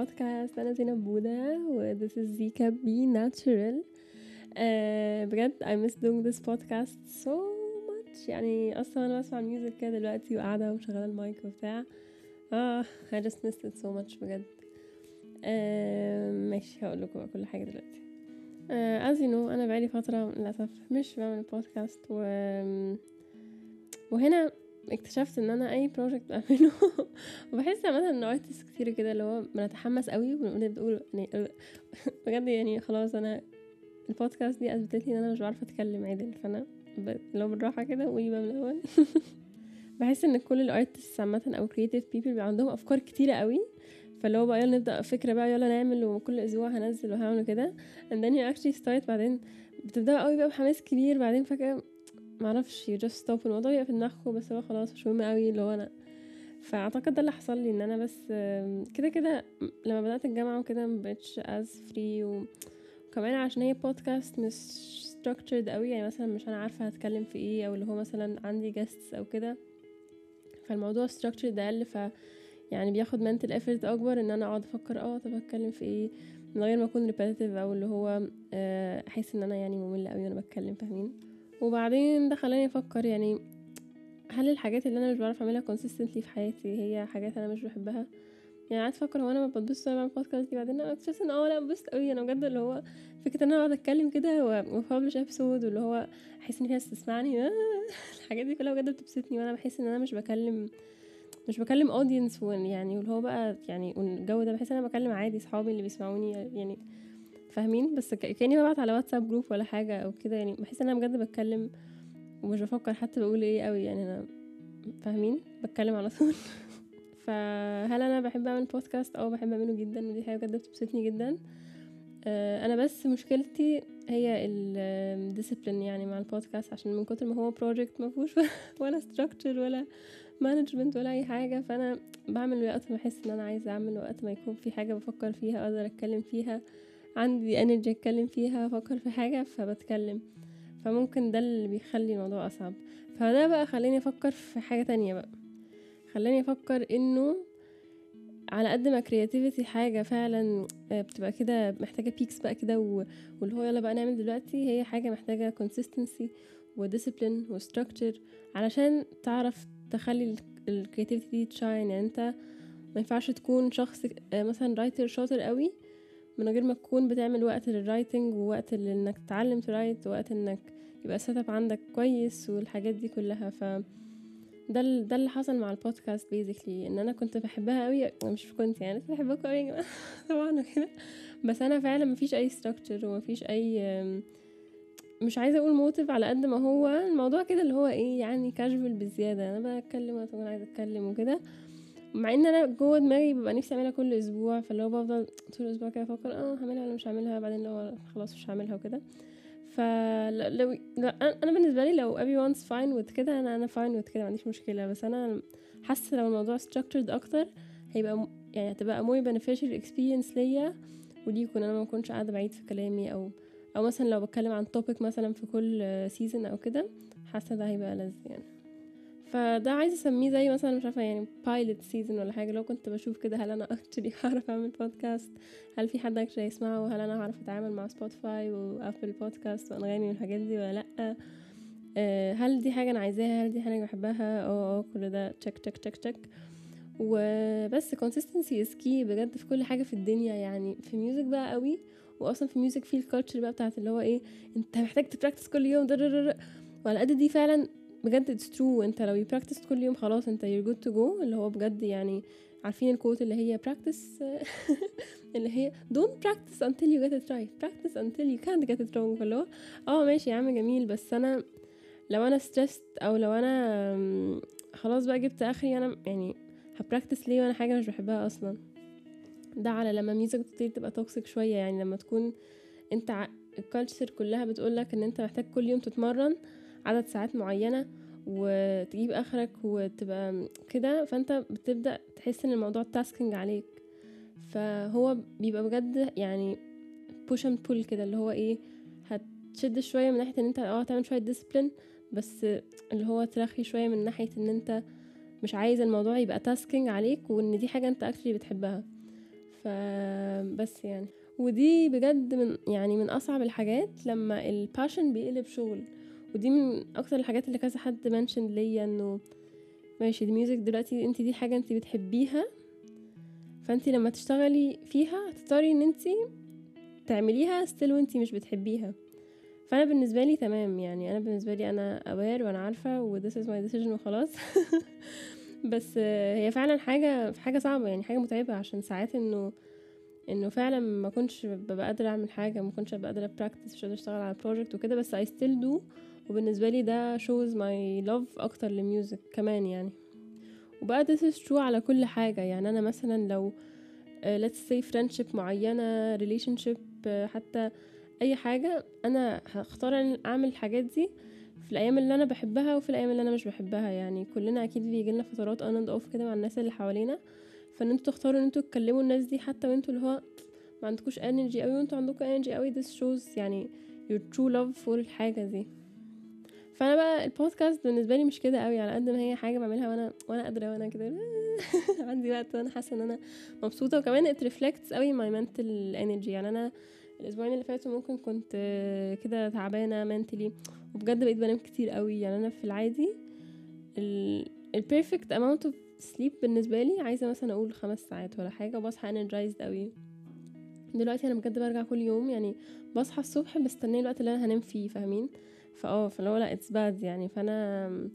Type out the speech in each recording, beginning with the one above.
بودكاست. انا زينب بودا و this is Zika Be Natural. بجد I miss doing this podcast so much. يعني اصلا انا بسمع الميوزك كده دلوقتي وقاعده ومشغله المايك وبتاع. I just missed it so much بجد. ماشي هقول لكم كل حاجه دلوقتي. as you know انا بقالي فتره للاسف مش بعمل بودكاست وهنا اكتشفت ان انا اي بروجكت بعمله وبحس مثلا ان ارتست كتير كده اللي هو بنتحمس قوي وبنقول يعني بجد يعني خلاص انا البودكاست دي اثبتت لي ان انا مش بعرف اتكلم عدل، فانا لو بالراحه كده قولي بقى من الاول. بحس ان كل الارتست عامه او كرييتيف بيبل بيبقى عندهم افكار كتيره قوي، فاللي هو بقى يلا نبدا فكره بقى يلا نعمل وكل اسبوع هنزل وهعمل كده and then you actually start. بعدين بتبدا قوي بقى بحماس كبير، بعدين فجاه معرفش you just stop الموضوع يبقى في دماغكم بس هو خلاص مش مهم قوي اللي هو انا. فاعتقد ده اللي حصل لي ان انا بس كده كده لما بدات الجامعه وكده مبقتش as free وكمان عشان هي بودكاست مش structured قوي، يعني مثلا مش انا عارفه هتكلم في ايه او اللي هو مثلا عندي guests او كده، فالموضوع structured ده اقل، ف يعني بياخد mental effort اكبر ان انا اقعد افكر طب هتكلم في ايه من غير ما اكون repetitive او اللي هو احس ان انا يعني ممله قوي وانا بتكلم، فاهمين؟ وبعدين ده خلاني افكر يعني هل الحاجات اللي انا مش بعرف اعملها consistently في حياتي هي حاجات انا مش بحبها؟ يعني قعدت افكر هو انا ما بتبسط وانا بعمل بودكاست دي، بعدين انا اكتشفت ان لا ببسط قوي انا بجد، اللي هو فكره ان انا اقعد اتكلم كده وببلش ابسود واللي هو احس ان في ناس تسمعني الحاجات دي كلها بجد بتبسطني، وانا بحس ان انا مش بكلم اودينس يعني واللي هو بقى يعني الجو ده بحس ان انا بكلم عادي صحابي اللي بيسمعوني يعني فاهمين، بس كاني ببعت على واتساب جروب ولا حاجه او كده، يعني بحس ان انا بجد بتكلم ومش بفكر حتى بقول ايه قوي، يعني انا فاهمين بتكلم على طول. فهل انا بحب اعمل بودكاست؟ بحب اعمله جدا ودي حاجه بجد بتبسطني جدا. انا بس مشكلتي هي الديسيبلين يعني مع البودكاست، عشان من كتر ما هو بروجكت ما فيهوش ولا ستراكشر ولا مانجمنت ولا اي حاجه، فانا بعمل وقت ما احس ان انا عايزه اعمل، وقت ما يكون في حاجه بفكر فيها اقدر اتكلم فيها، عندي انرجي اتكلم فيها، افكر في حاجه فبتكلم، فممكن ده اللي بيخلي الموضوع اصعب. فده بقى خليني افكر في حاجه تانية بقى، خلاني افكر انه على قد ما creativity حاجة فعلا بتبقى كده محتاجة peaks بقى كده واللي هو يلا بقى نعمل دلوقتي، هي حاجة محتاجة consistency و discipline و structure علشان تعرف تخلي creativity دي تشاين. يعني انت ما ينفعش تكون شخص مثلا رايتر شاطر قوي من غير ما تكون بتعمل وقت للرايتنج ووقت انك تتعلم ترايت ووقت انك يبقى setup عندك كويس والحاجات دي كلها. ده اللي حصل مع البودكاست بيزيكلي، ان انا كنت بحبها قوي، مش كنت يعني كنت بحبها قوي يا جماعه طبعا كده، بس انا فعلا مفيش اي ستراكشر ومفيش اي مش عايزه اقول موتيف على قد ما هو الموضوع كده اللي هو ايه يعني كاجوال بزياده، انا بتكلم وانا عايزه اتكلم وكده، مع ان انا جوه دماغي ببقى نفسي اعملها كل اسبوع، فاللي هو بفضل طول الاسبوع كده افكر هعملها ولا مش هعملها، بعدين لو خلاص مش هعملها وكده. فلو انا بالنسبه لي لو everyone's fine with كده انا fine with كده، ما عنديش مشكله، بس انا حاسه لو الموضوع structured اكتر هيبقى يعني هتبقى more beneficial experience ليا وليكم، انا ما اكونش قاعده بعيد في كلامي او مثلا لو بتكلم عن topic مثلا في كل season او كده، حاسه ده هيبقى لذيذ يعني. فده عايزه اسميه زي مثلا مش عارفه يعني pilot season ولا حاجه، لو كنت بشوف كده هل انا actually هعرف اعمل بودكاست، هل في حد actually يسمعه، وهل انا هعرف اتعامل مع سبوتيفاي وابل بودكاست وانغامي والحاجات دي ولا لا، هل دي حاجه انا عايزاها، هل دي حاجه بحبها، كل ده تشك تشك تشك تشك. وبس consistency is key بجد في كل حاجه في الدنيا، يعني في ميوزك بقى قوي، واصلا في ميوزك في الكالتشر بقى بتاعت اللي هو ايه انت محتاج تبراكتس كل يوم وعلى قد دي فعلا بجد it's true. انت لو practice كل يوم خلاص انت you're good to go، اللي هو بجد يعني عارفين الكوت اللي هي practice اللي هي don't practice until you get it right, practice until you can't get it wrong. فاللي هو ماشي يا عم جميل، بس انا لو انا stressed او لو انا خلاص بقى جبت اخري، انا يعني هبراكتس ليه وانا حاجه مش بحبها اصلا؟ ده على لما ميوزك كتير تبقى توكسيك شويه، يعني لما تكون انت الكالتشر كلها بتقولك ان انت محتاج كل يوم تتمرن عدد ساعات معينة وتجيب اخرك وتبقى كده، فانت بتبدأ تحس ان الموضوع تاسكينج عليك، فهو بيبقى بجد يعني push and pull كده، اللي هو ايه هتشد شوية من ناحية ان انت تعمل شوية discipline، بس اللي هو ترخي شوية من ناحية ان انت مش عايز الموضوع يبقى تاسكينج عليك وان دي حاجة انت actually بتحبها. فبس يعني ودي بجد من اصعب الحاجات لما الباشن بيقلب شغل. ودي من اكتر الحاجات اللي كذا حد منشن ليا انه ماشي الميوزك دلوقتي انت دي حاجة انت بتحبيها، فانت لما تشتغلي فيها هتضطري ان انت تعمليها ستيل وانت مش بتحبيها. فانا بالنسبه لي تمام يعني، انا بالنسبه لي انا aware وانا عارفه و this is my decision وخلاص. بس هي فعلا حاجه صعبه يعني، حاجه متعبه، عشان ساعات انه فعلا ما كنتش ببقى قادره اعمل حاجه، ما كنتش ببقى قادره براكتس، مش قادره اشتغل على بروجكت وكده، بس I still do. وبالنسبه لي ده shows my love اكتر للميوزك كمان يعني. وبقى this is true على كل حاجه يعني. انا مثلا لو let's say friendship معينه، relationship، حتى اي حاجه، انا هختار ان اعمل الحاجات دي في الايام اللي انا بحبها وفي الايام اللي انا مش بحبها يعني. كلنا اكيد بيجي لنا فترات on and off كده مع الناس اللي حوالينا، فان انتوا تختاروا ان انتوا تكلموا الناس دي حتى وانتوا اللي هو ما عندكوش energy قوي وانتوا عندكم energy قوي. this shows يعني your true love for الحاجه دي. فانا بقى البودكاست بالنسبه لي مش كده قوي، على قد ما هي حاجه بعملها وانا قادره وانا كده عندي وقت وانا حاسه ان انا مبسوطه، وكمان it reflects قوي my mental energy يعني. انا الاسبوعين اللي فاتوا ممكن كنت كده تعبانه mentally، وبجد بقيت بنام كتير قوي يعني. انا في العادي ال perfect amount of sleep بالنسبه لي عايزه مثلا اقول 5 ساعات ولا حاجه، وبصحى energized قوي. دلوقتي انا بجد برجع كل يوم يعني بصحى الصبح مستنيه الوقت اللي انا هنام فيه، فاهمين؟ فلو لا it's bad يعني. فانا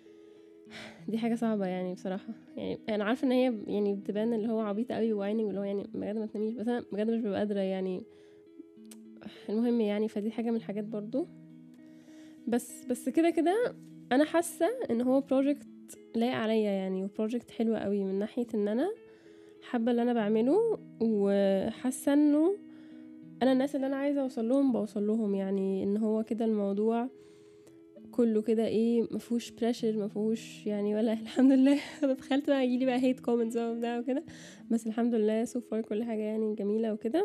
دي حاجه صعبه يعني بصراحه يعني. انا عارفه ان هي يعني بتبان اللي هو عبيطه قوي ووايننج واللي هو يعني بجد ما تناميش، بس انا بجد مش ببقى قادره يعني. المهم يعني فدي حاجه من الحاجات برضو. بس كده انا حاسه ان هو بروجكت لايق عليا يعني، وبروجكت حلو قوي من ناحيه ان انا حابه اللي انا بعمله، وحاسه انه انا الناس اللي انا عايزه اوصل لهم بوصل لهم يعني. ان هو كده الموضوع كله كده ايه، مفهوش بريشر، مفهوش يعني ولا الحمد لله. انا دخلت بقى يجيلي بقى هيت كومنتس وبتاع وكده، بس الحمد لله سو فار كل حاجه يعني جميله وكده.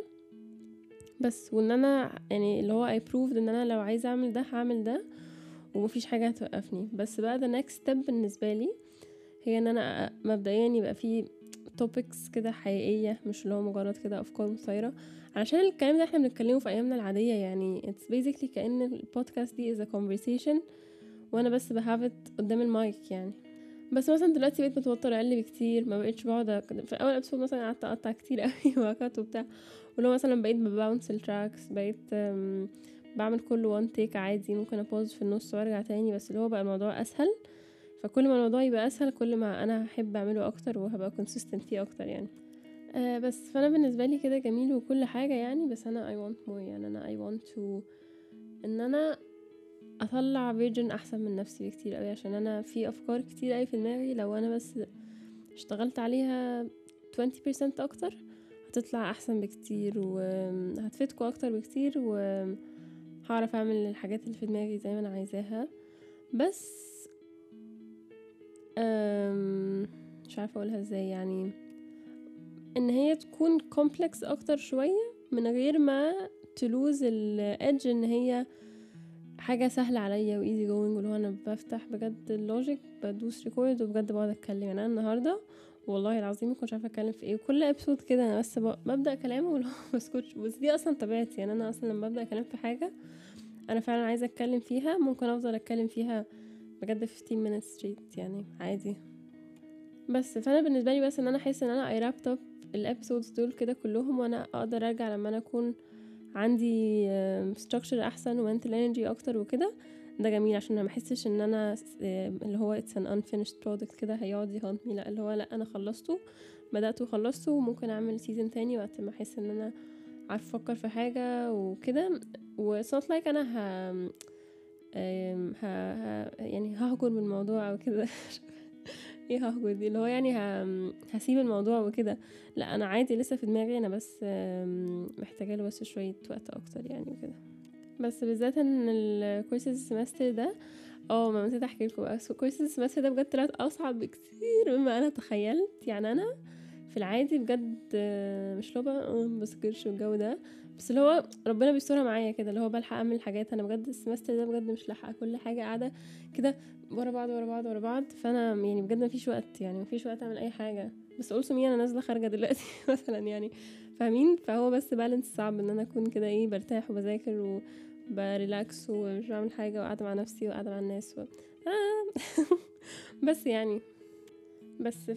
بس وان انا يعني اللي هو I proved ان انا لو عايزه اعمل ده هعمل ده، ومفيش حاجه هتوقفني. بس بقى the next step بالنسبه لي هي ان انا مبدئيا يبقى في topics كده حقيقيه، مش اللي هو مجرد كده افكار مثيره، علشان الكلام ده احنا بنتكلمه في ايامنا العاديه يعني. it's basically كأن البودكاست دي is a conversation وانا بس بهافت قدام المايك يعني. بس مثلا دلوقتي بقيت متوتره اقل بكتير، ما بقيتش بقعد في اول ابسود مثلا قعدت اقطع كتير قوي وهكات وبتاع، ولو مثلا بقيت بباونس التراكس، بقيت بعمل كل وان تيك عادي، ممكن ابوز في النص وارجع تاني، بس اللي هو بقى الموضوع اسهل. فكل ما الموضوع يبقى اسهل كل ما انا هحب اعمله اكتر وهبقى consistent فيه اكتر يعني. بس فانا بالنسبه لي كده جميل وكل حاجه يعني، بس انا I want more يعني. انا I want to ان انا اطلع فيرجن احسن من نفسي بكتير قوي، عشان انا في افكار كتير قوي في دماغي لو انا بس اشتغلت عليها 20% اكتر هتطلع احسن بكتير وهتفيدكوا اكتر بكتير، وهعرف اعمل الحاجات اللي في دماغي زي ما انا عايزاها. بس مش عارفه اقولها ازاي يعني، ان هي تكون كومبلكس اكتر شويه من غير ما تلوز الادج، ان هي حاجه سهله عليا وايزي جوينج، واللي هو انا بفتح بجد اللوجيك بدوس ريكورد وبجد بقعد اتكلم يعني. انا النهارده والله العظيم ما كنتش عارفه اتكلم في ايه، وكل ابسود كده انا بس ببدا كلام واللي هو بسكتش. بس دي اصلا طبيعتي يعني. انا اصلا لما ببدا كلام في حاجه انا فعلا عايزه اتكلم فيها، ممكن افضل اتكلم فيها بجد 15 minutes straight يعني عادي. بس فانا بالنسبه لي بس ان انا احس ان انا I wrapped up الابسودز دول كده كلهم، وانا اقدر ارجع لما انا اكون عندي structure احسن و mental energy اكتر وكده. ده جميل عشان ما احسش ان انا اللي هو it's an unfinished product كده هيقعد يهانتني، لا اللي هو لا انا خلصته، بدأته وخلصته، وممكن اعمل سيزن تاني وقت ما احس ان انا عارفه افكر في حاجه وكده. و it's not like انا يعني ههجر من الموضوع او كده. ايه ههجر دي اللي هو يعني هسيب الموضوع وكده، لا انا عادي لسه في دماغي انا، بس محتاجه له بس شويه وقت اكتر يعني وكده. بس بالذات ان الكورس السمستر ده ما نسيت احكي لكم بقى، كورس السمستر ده بجد طلعت اصعب بكتير مما انا تخيلت يعني. انا في العادي بجد مش لو بقى بذاكرش والجو ده، بس اللي هو ربنا بيسترها معايا كده، اللي هو بلحق اعمل حاجات. انا بجد السمستر ده بجد مش لاحقه كل حاجه، قاعده كده ورا بعض ورا بعض ورا بعض، فانا يعني بجد مفيش وقت يعني، مفيش وقت اعمل اي حاجه. بس قلت مين انا نازله خارجه دلوقتي مثلا يعني فاهمين؟ فهو بس بالانس صعب ان انا اكون كده ايه برتاح وبذاكر وبريلاكس ومش بعمل حاجه وقاعده مع نفسي وقاعده مع الناس بس يعني بس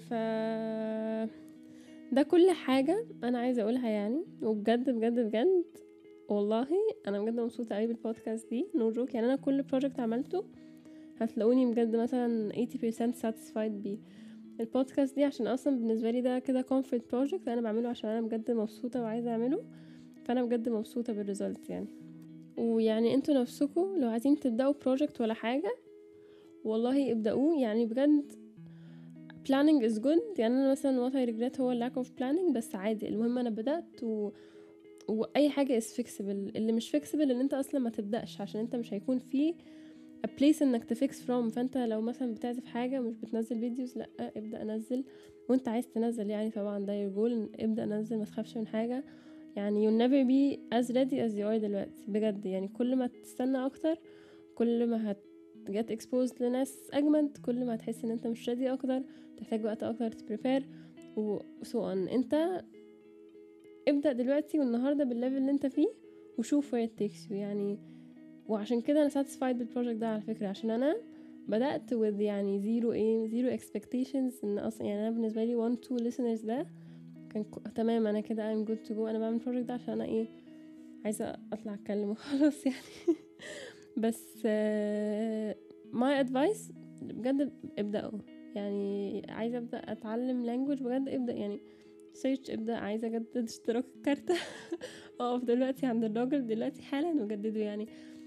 ده كل حاجه انا عايزه اقولها يعني. وبجد بجد بجد والله انا بجد مبسوطه قوي بالبودكاست دي، نو جوك. يعني انا كل بروجكت عملته هتلاقوني بجد مثلا 80% satisfied بيه. البودكاست دي عشان اصلا بالنسبه لي ده كده comfort project انا بعمله عشان انا بجد مبسوطه وعايزه اعمله، فانا بجد مبسوطه بالريزلت يعني. ويعني انتوا نفسكم لو عايزين تبداوا project ولا حاجه والله ابداوه يعني بجد. planning is good. يعني انا مثلا what I regret هو lack of planning، بس عادي المهم انا بدات واي حاجه is fixable. اللي مش fixable ان انت اصلا ما تبداش، عشان انت مش هيكون فيه a place انك تفكس from. فانت لو مثلا بتعزف حاجة ومش بتنزل فيديوز، لا ابدأ انزل وانت عايز تنزل يعني. طبعا ده your goal، ابدأ نزل، ما تخافش من حاجة يعني. you'll never be as ready as you are دلوقتي بجد يعني. كل ما تستنى اكتر كل ما get exposed لناس اجمد، كل ما هتحس ان انت مش ready اكتر، تحتاج وقت اكتر تبريبير so on. انت ابدأ دلوقتي والنهاردة بالليفل اللي انت فيه وشوف where it takes you يعني. وعشان كده انا satisfied بالبروجكت ده على فكرة، عشان انا بدأت with يعني zero expectations. ان اصلا يعني انا بالنسبة لي 1-2 listeners ده كان تمام، انا كده I'm good to go. انا بعمل البروجكت ده عشان انا عايزة اطلع اتكلم وخلاص يعني. بس my advice بجد ابدأوا يعني. عايزة ابدأ اتعلم language بجد، ابدأ يعني سيرش، ابدأ. عايزة اجدد اشتراك الكارتة اقف دلوقتي عند الراجل دلوقتي حالا وجدده يعني.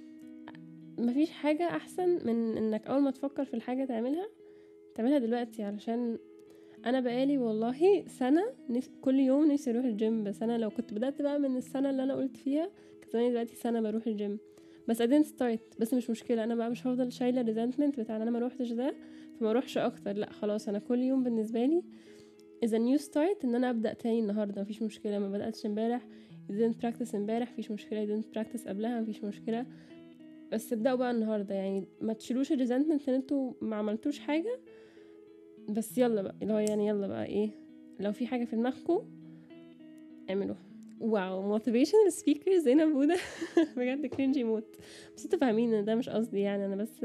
مفيش حاجة احسن من انك اول ما تفكر في الحاجة تعملها دلوقتي. علشان انا بقالي والله سنة كل يوم نفسي اروح الجيم، بس انا لو كنت بدأت بقى من السنة اللي انا قلت فيها كنت زماني دلوقتي سنة بروح الجيم. بس I didn't start. بس مش مشكلة، انا بقى مش هفضل شايلة resentment بتاع ان انا ما روحتش ده فما اروحش اكتر. لا خلاص، انا كل يوم بالنسبة لي is a new start ان انا ابدأ تاني النهاردة. مفيش مشكلة ما بدأتش امبارح، you didn't practice امبارح مفيش مشكلة، you didn't practice قبلها مفيش مشكلة، بس ابدأوا بقى النهاردة يعني. ما تشيلوش الريزنتمنت ان انتوا ما عملتوش حاجة، بس يلا بقى اللي هو يعني يلا بقى لو في حاجة في دماغكم اعملوها. واو motivational speaker زينب بودة بجد كرينجي موت. بس انتوا فاهمين ان ده مش قصدي يعني، انا بس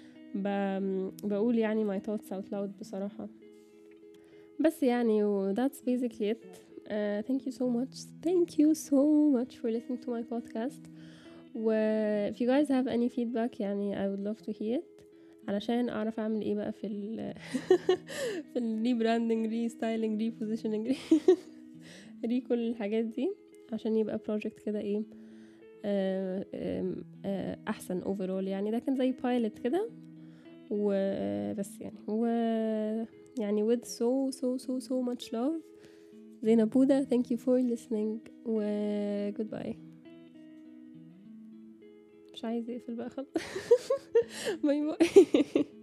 بقول يعني my thoughts out loud بصراحة. بس يعني that's basically it. Thank you so much for listening to my podcast. if you guys have any feedback يعني I would love to hear it علشان اعرف اعمل ايه بقى في في الريبراندنج ريستايلنج ريبوزيشننج كل الحاجات دي عشان يبقى project كده احسن overall يعني. ده كان زي pilot كده وبس يعني with so much love زينب بودة. thank you for listening و goodbye. مش عايزة اقفل بقى خلاص. باي باي.